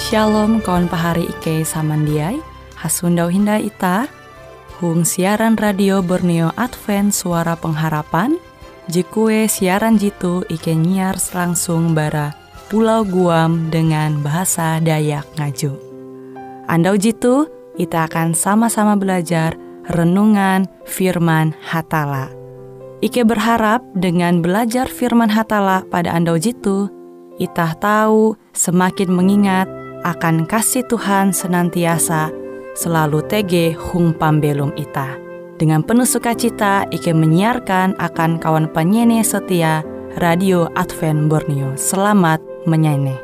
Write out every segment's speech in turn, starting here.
Shalom kawan pahari Ike samandiai, hasundau hindai ita, hung siaran radio Borneo Advent Suara Pengharapan, jikue siaran jitu Ike nyiar langsung bara Pulau Guam dengan bahasa Dayak Ngaju. Andau jitu, kita akan sama-sama belajar renungan firman Hatala. Ike berharap dengan belajar firman Hatala pada andau jitu, kita tahu semakin mengingat akan kasih Tuhan senantiasa selalu tege hung pambelum ita. Dengan penuh sukacita, Ike menyiarkan akan kawan penyanyi setia Radio Advent Borneo. Selamat menyanyi.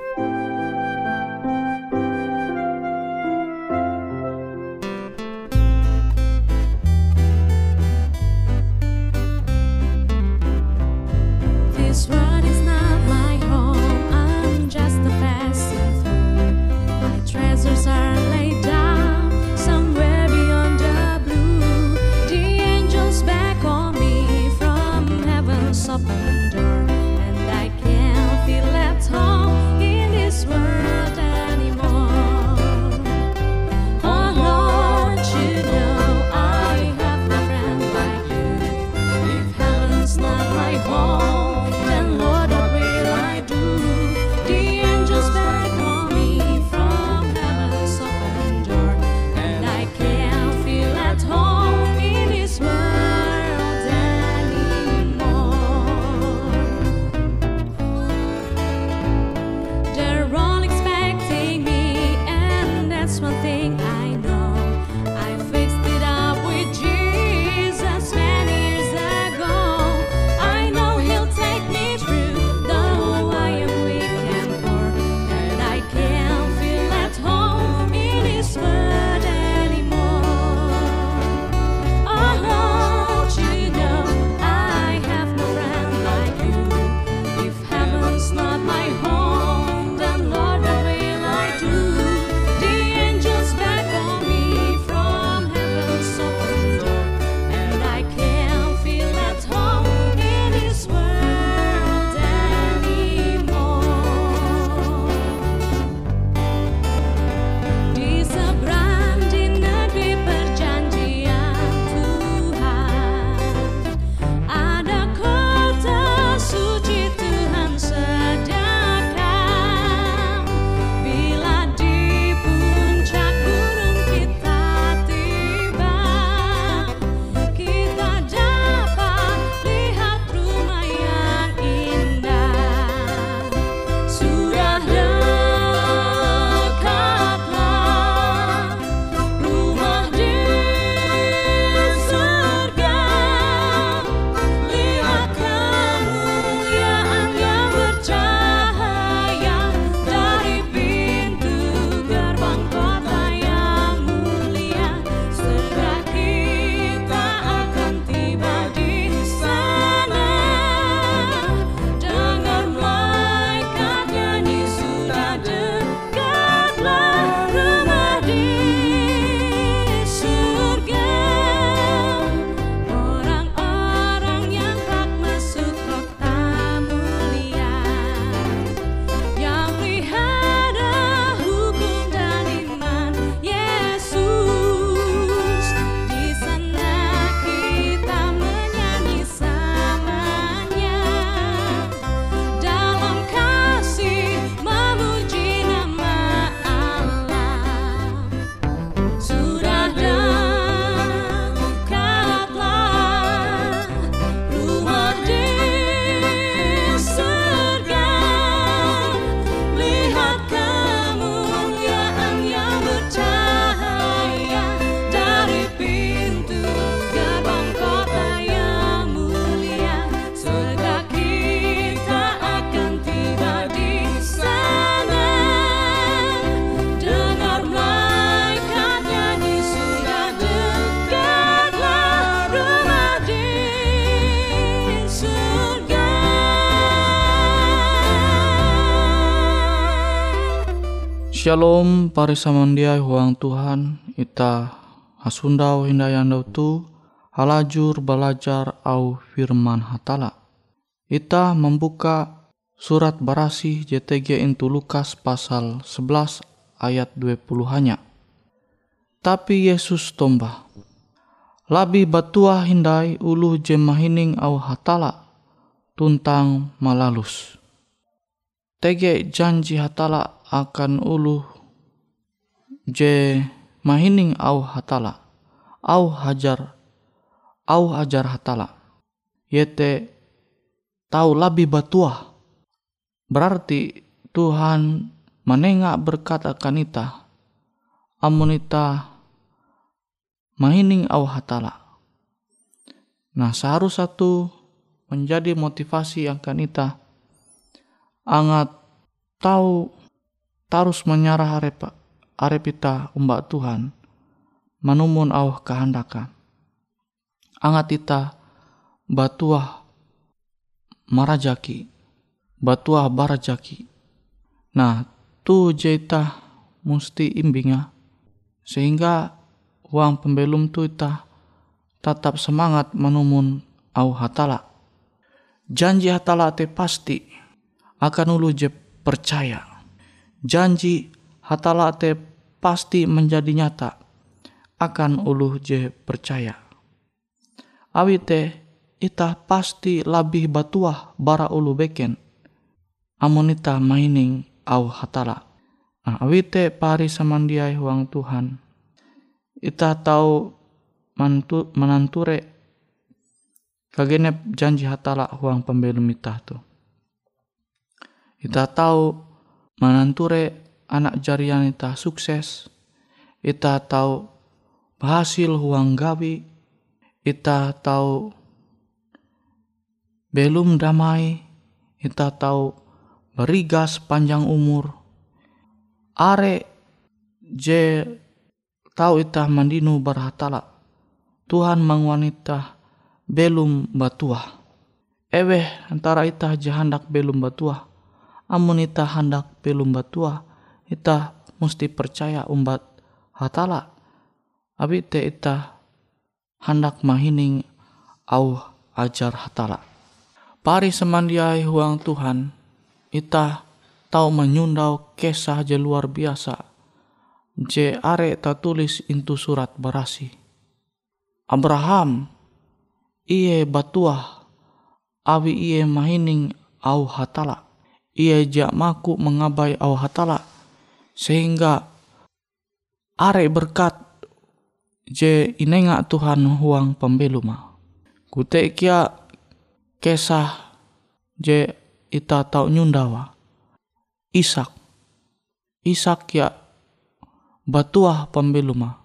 Shalom pari samandiai huang Tuhan, ita hasundau hindayandau tu halajur belajar au firman Hatala. Ita membuka surat Barasih JTG intu Lukas pasal 11 ayat 20-nya. Tapi Yesus tombah, labi batua hindai ulu je mahining au hatala tuntang malalus. Tege janji hatala akan ulu je mahining au hatala, au hajar hatala. Yete tahu labi batua. Berarti Tuhan menengak berkat akan ita, amun ita mahining au hatala. Nah, seharusnya satu menjadi motivasi akan ita angat tahu tarus menyarah arep ita umbak Tuhan manumun au kehendaka. Angat ita batuah marajaki, batuah barajaki. Nah, tu jeta musti imbinga sehingga uang pembelum tu ita tetap semangat menumun au hatala. Janji hatala te pasti akan ulu je percaya. Janji hatala te pasti menjadi nyata akan ulu je percaya. Awi te ita pasti labih batuah bara ulu beken amun ita mahining au hatala. Nah, awi te pari samandiai huang Tuhan, ita tahu menanture kagenep janji hatala huang pembelum ita tu. Ita tahu menanture anak jarian ita sukses. Ita tahu berhasil huang gawi. Ita tahu belum damai. Ita tahu berigas panjang umur. Are je tahu ita mandinu berhatala. Tuhan mangwanita belum batuah. Eweh antara ita jahandak belum batuah. Amun ita handak belum batuah, ita mesti percaya umbat hatala. Abi te ita handak mahining au ajar hatala. Pari semandiai huang Tuhan, ita tahu menyundau kisah je luar biasa. Je are ta tulis intu surat Barasi. Abraham iye batuah awi iye mahining au hatala. Ia jak maku mengabai au hatala sehingga are berkat je inenga Tuhan huang pembeluma. Kute kia kisah je ita tau nyundawa. Ishak ya batuah pembeluma.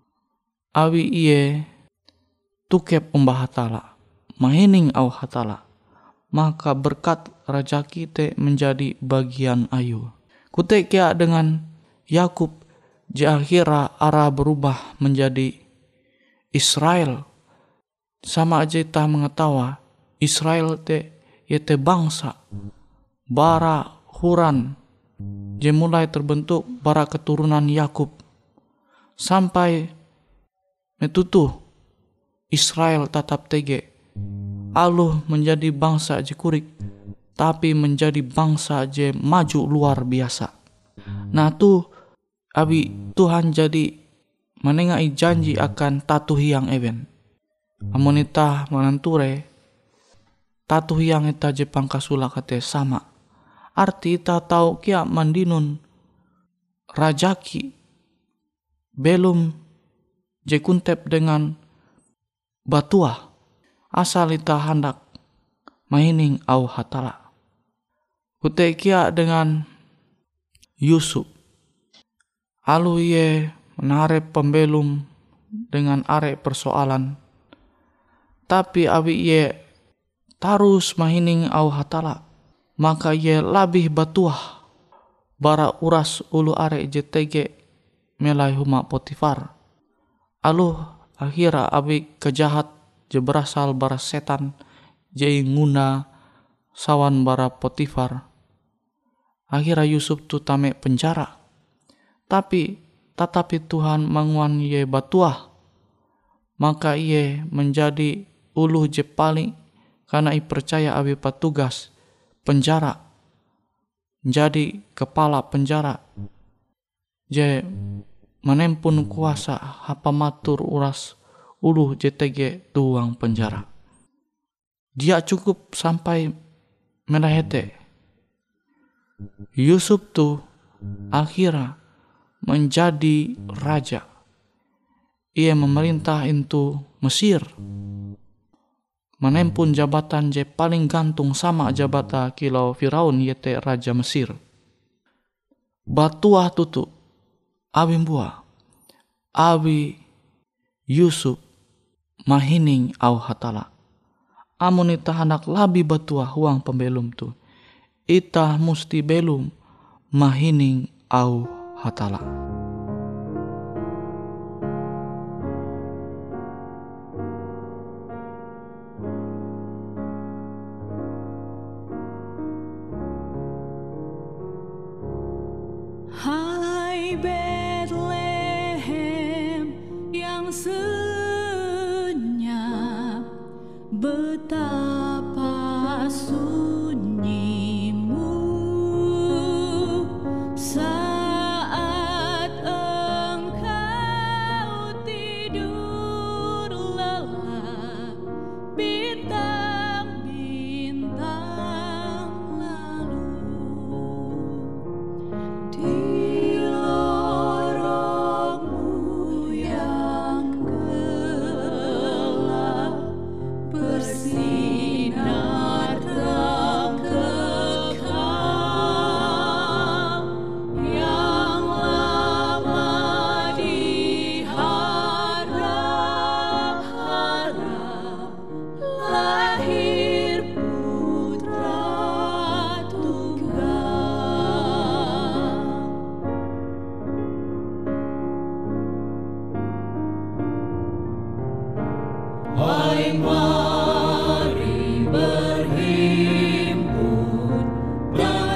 Awi iye tukep umbah hatala, mahining au hatala. Maka berkat rajaki te menjadi bagian ayu. Kute kia dengan Yakub je akhirnya arah berubah menjadi Israel. Sama aja kita mengetawa Israel te yete bangsa bara huran je mulai terbentuk bara keturunan Yakub sampai metutu Israel tetap tege. Aluh menjadi bangsa je kurik, tapi menjadi bangsa je maju luar biasa. Nah tu abi Tuhan jadi menengai janji akan tatu hiang even. Amun ita menanture tatu hiang ita je pangkasula kate sama. Arti ita tahu kia mandinun rajaki belum je kuntep dengan batuah. Asal ita hendak mahining au hatala. Kute kia dengan Yusuf. Alu ye menare pembelum dengan are persoalan. Tapi abi ye tarus mahining au hatala. Maka ye labih batuah bara uras ulu are JTG melai huma Potifar. Alu akhira abi kejahat je berasal bara setan je nguna sawan bara Potifar. Akhirnya Yusuf tu tame penjara. Tetapi Tuhan manguan ye batuah. Maka ye menjadi ulu je paling karena i percaya abi patugas penjara. Jadi kepala penjara. je menempun kuasa hapa matur uras uluh JTG tuang penjara. Dia cukup sampai melahete. Yusuf tuh akhirnya menjadi raja. Ia memerintah itu Mesir. Menempun jabatan je paling gantung sama jabatan kilau Firaun yaitu Raja Mesir. Batuah tutu awi buah. Awi Yusuf mahining au hatala. Amun ita hendak labi batuah huang pembelum tu. Ita musti belum mahining au hatala. Hai Bethlehem yang senyap, betapa sunyimu saat engkau tidur lelap, bintang-bintang lalu di lorongmu yang gelap bersinar terang kekal yang lama diharap-harap, lahir putra tunggal. Hai, mari berhimpun dan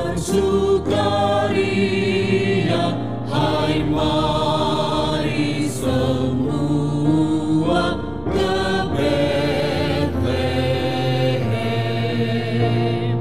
bersukaria. Hai, mari semua ke Bethlehem.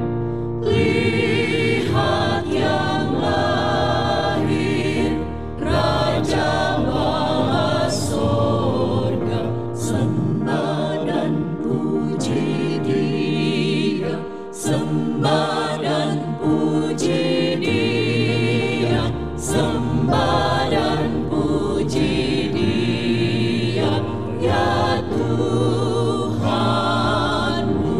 Lihat yang lahir, Raja bala sorga. Sembah dan puji Dia, sembah dan puji Dia, sembah dan puji Dia, ya Tuhanmu.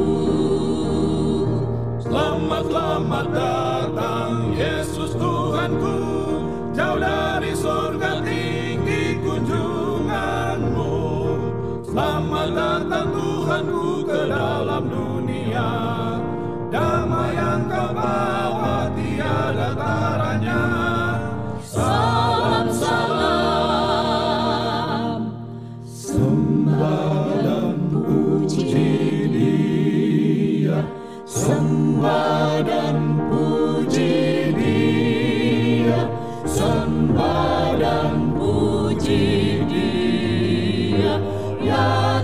Selamat, selamat datang Yesus Tuhanku, jauh dari surga tinggi kunjunganmu. Selamat datang Tuhanku ke dalam dunia, damai yang kau bawa tiada taranya. Salam, salam, Sembah dan puji Dia, sembah dan puji Dia, sembah dan puji Dia, ya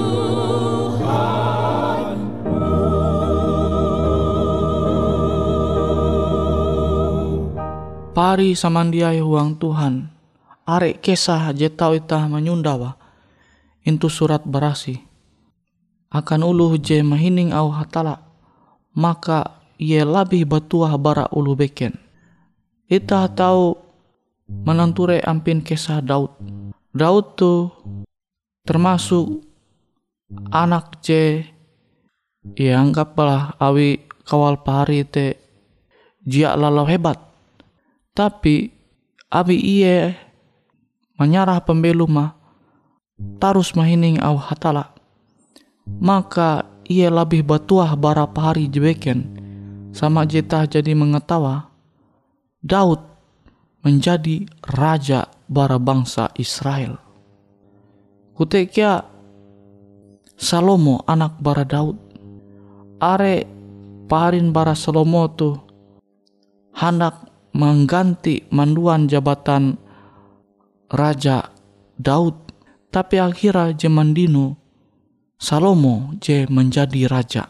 Tuhanmu. Pari samandiai huang Tuhan. Arek kesah jetau itah menyundawa. Intu surat berasi. Akan uluh je mahining au hatala. Maka ia labih batuah bara ulu beken. Itah tahu menanture ampin kisah Daud. Daud tu termasuk anak je ya anggaplah awi kawal pari te jia lalau hebat. Tapi abi ia menyarah pembelum mah tarus mahining au hatala. Maka ia lebih batuah bara pari jebeken sama jetah jadi mengetawa Daud menjadi raja bara bangsa Israel. Kutekia Salomo anak bara Daud. Are parin bara Salomo tu hendak mengganti manduan jabatan Raja Daud. Tapi akhirnya zaman dinu Salomo je menjadi raja.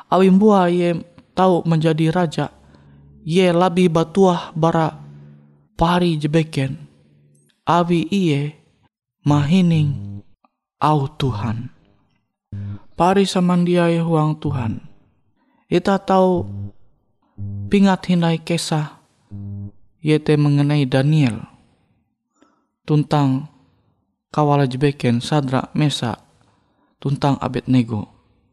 Awimbua ye tahu menjadi raja. Ye lebih batuah bara pari jebeken awi iye mahining au Tuhan. Pari samandiai huang Tuhan. Ita tahu pingat hindai kisah yaitu mengenai Daniel tuntang kawala jebeken Sadrak Mesak tuntang Abednego.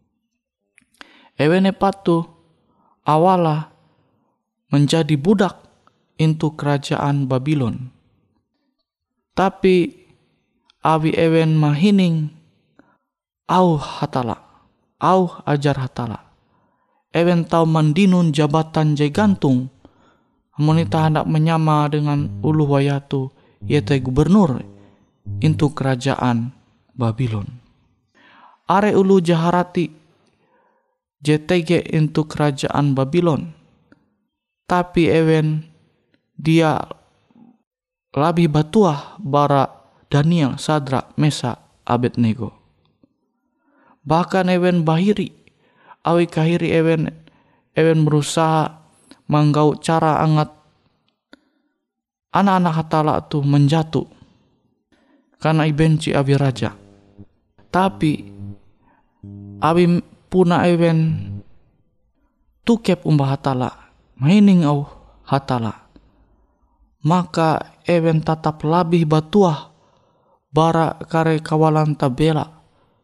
Ewene patu awala menjadi budak into kerajaan Babylon. Tapi awi ewen mahining au hatala, au ajar hatala. Ewen tau mandinun jabatan jai gantung. Monita hendak menyama dengan ulu wayatu yaitu gubernur into kerajaan Babylon. Are ulu jaharati JTG into kerajaan Babylon. Tapi ewen dia lebih batuah bara Daniel, Sadrak, Mesak, Abednego. Bahkan ewen bahiri, awi kahiri ewen berusaha manggau cara angat anak-anak hatala tu menjatuh karena ibenci awi raja. Tapi awi puna ewen tukep umbah hatala, mahining au hatala, maka ewen tatap labih batuah bara kare kawalan tabela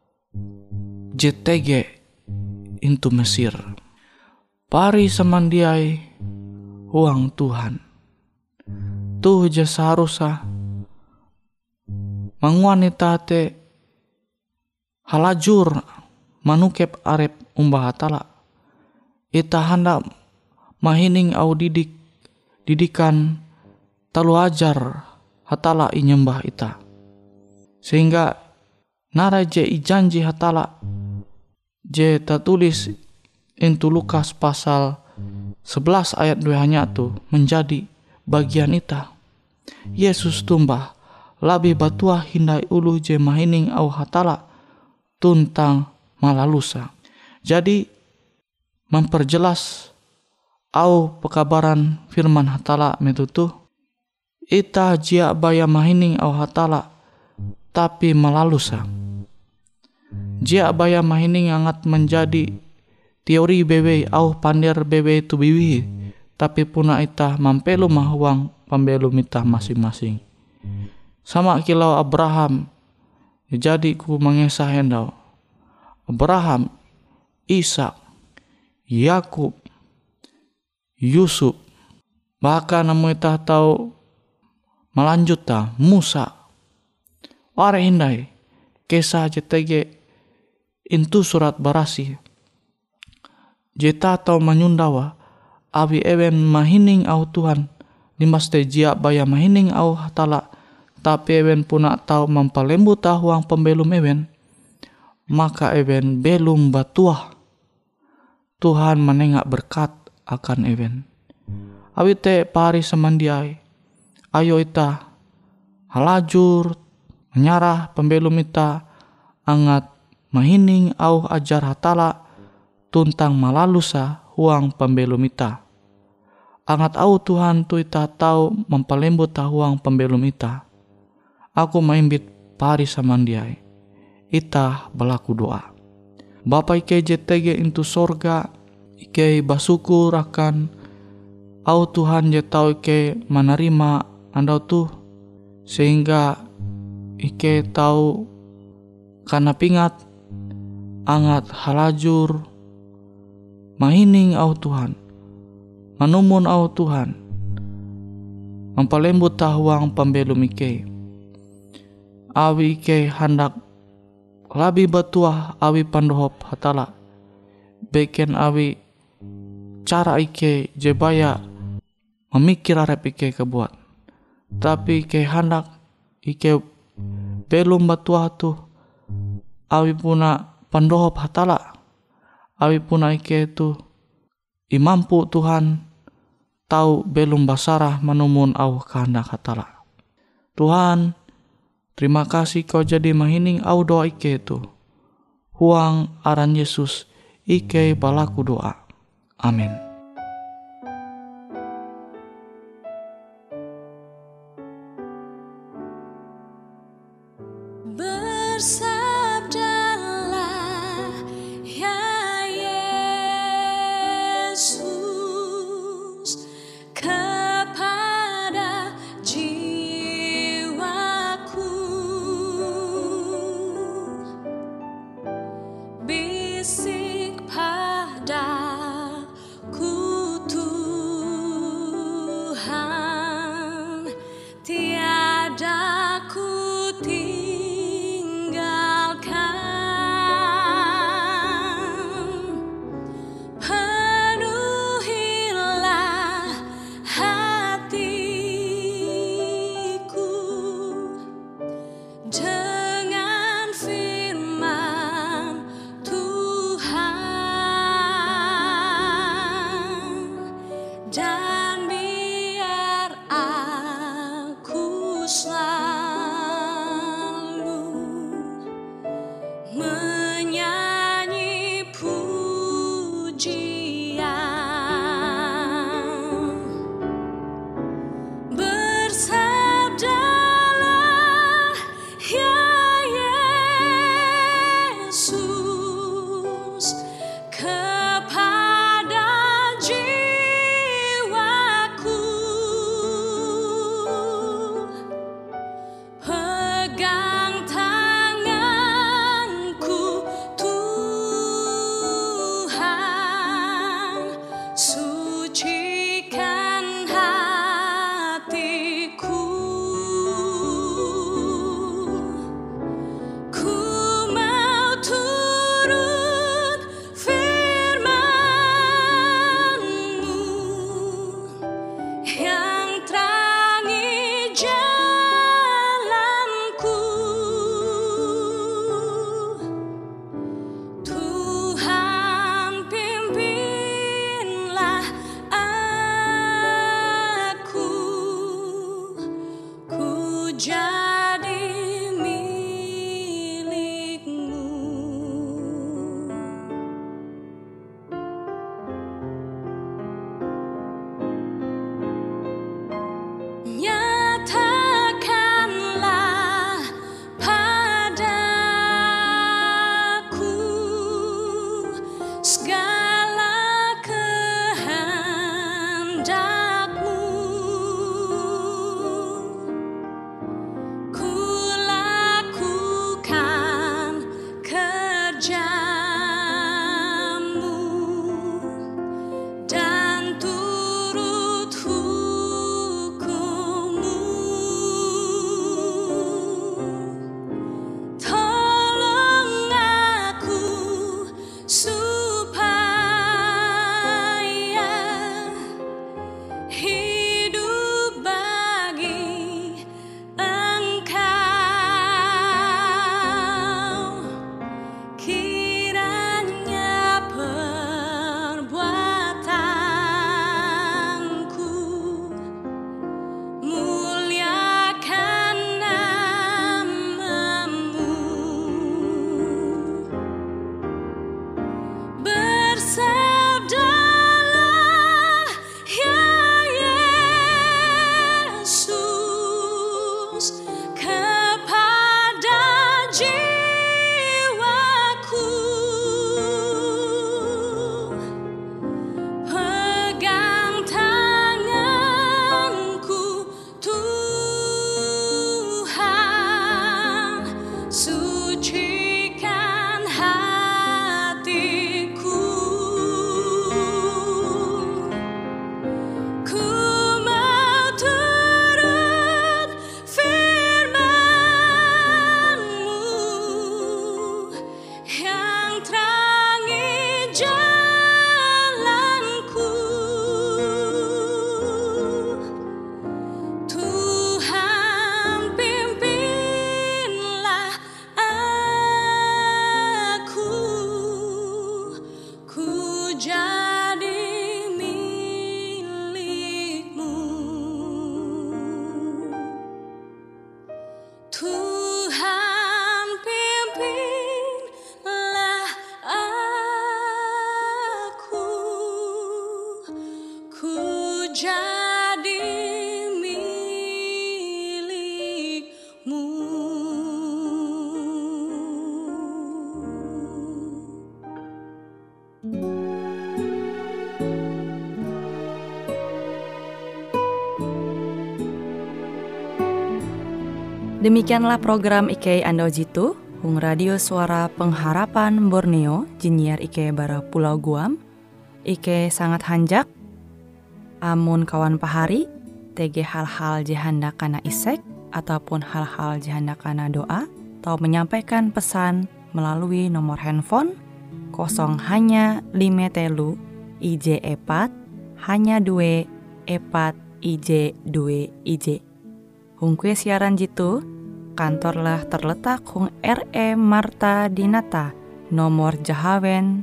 JTG into Mesir. Pari samandiai huang Tuhan. Tuh je seharusnya manguanita te halajur manukep arep umbah hatala. Ita hendak mahining au didikan talu ajar hatala inyembah ita. Sehingga nara je ijanji hatala je tertulis into Lukas pasal 11 ayat 2 hanya tu menjadi bagian ita. Yesus tumbah labih batuah hindai ulu je mahining au hatala tuntang malalusa. Jadi memperjelas au pekabaran firman hatala metutu ita jia baya mahining au hatala tapi malalusa. Jia baya mahining angat menjadi teori bebe au pandir bebe tu biwi, tapi puna ita mampelu mahuang pembelu mitah masing-masing. Sama kilau Abraham, jadi ku mengesah hendau. Abraham, Ishak, Yakub, Yusuf, bahkan namu ita tahu melanjut ta Musa. Ware hindai kisah JTG intu surat barasi. Jeta tau menyundawa awi ewen mahining au Tuhan limas te jia baya mahining au hatala tapi ewen puna tau mampalembu tahuang pembelum ewen maka ewen belum batuah Tuhan menengak berkat akan ewen. Awi te pari samandiai ayo ita halajur menyarah pembelum ita angat mahining au ajar hatala tuntang malalusa huang pembelum ita. Angat au Tuhan tu ita tau mempalembut huang pembelum ita. Aku maimbit pari samandiai. Ita belaku doa. Bapa ike JTG into sorga, ike basukur akan au Tuhan je tau ike menerima andau tuh sehingga ike tau karena pingat angat halajur mahining au Tuhan, manumun au Tuhan, mempalembut tahuang pembelum ike. Awi ike hendak labi batuah awi pandohop hatala, beken awi cara ike jebaya memikir arep ike kebuat. Tapi ike hendak ike belum batuah tuh awi puna pandohop hatala. Awi puna ike tu imampu Tuhan tahu belum basarah menumun au kehendak hatala. Tuhan, terima kasih kau jadi mahining au doa ike tu. Huang aran Yesus ike balaku doa. Amin. berbisik padaku, Tuhan, tiada ku tinggalkan. Penuhilah hatiku dengan firman Tuhan, dan biar aku selalu menyanyi pujian. Bersabdalah ya Yesus kepada jiwaku, pegang tanganku, Tuhan, sucikan hatiku. Ku mau turut firman-Mu yang terangi jalanku. Tuhan, pimpinlah aku, ku jadi milik-Mu. Nyatakanlah padaku segala kehendak-Mu. Ku lakukan kerja-Mu dan turut hukum-Mu. Tolong aku supaya hidup bagi Engkau. Kiranya perbuatanku muliakan nama-Mu. Bersabdalah ya Yesus kepada jiwaku, pegang tanganku, Tuhan, sucikan hatiku. Ku mau turut firman-Mu yang terangi jalanku. Tuhan, pimpinlah aku, ku jadi milik-Mu. Tuhan, pimpinlah aku, ku jadi milik-Mu. Demikianlah program IK Ando Jitu. Hung Radio Suara Pengharapan Borneo jinnyar ike bara Pulau Guam. Ike sangat hanjak amun kawan pahari tege hal-hal jihanda kana isek ataupun hal-hal jihanda kana doa atau menyampaikan pesan melalui nomor handphone 0 hanya 5 telu IJ epat hanya 2 epat IJ 2 IJ. Hung kue siaran jitu kantorlah terletak hung RE Marta Dinata nomor Jahawen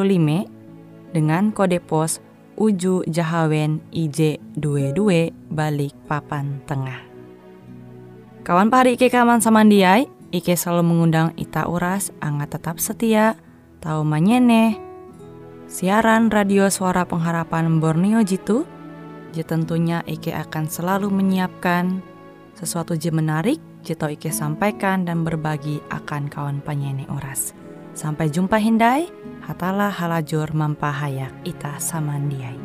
15 dengan kode pos Uju Jahawen IJ 22 balik papan tengah. Kawan pahari Ike kaman samandiai, Ike selalu mengundang ita uras angga tetap setia tahu manyeneh siaran radio Suara Pengharapan Borneo jitu. Tentunya Ike akan selalu menyiapkan sesuatu je menarik jito Ike sampaikan dan berbagi akan kawan penyanyi oras. Sampai jumpa hindai, hatalah halajur mampahayak ita samandiai.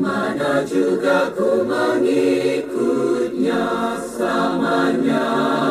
Kemana juga ku mengikutnya selamanya.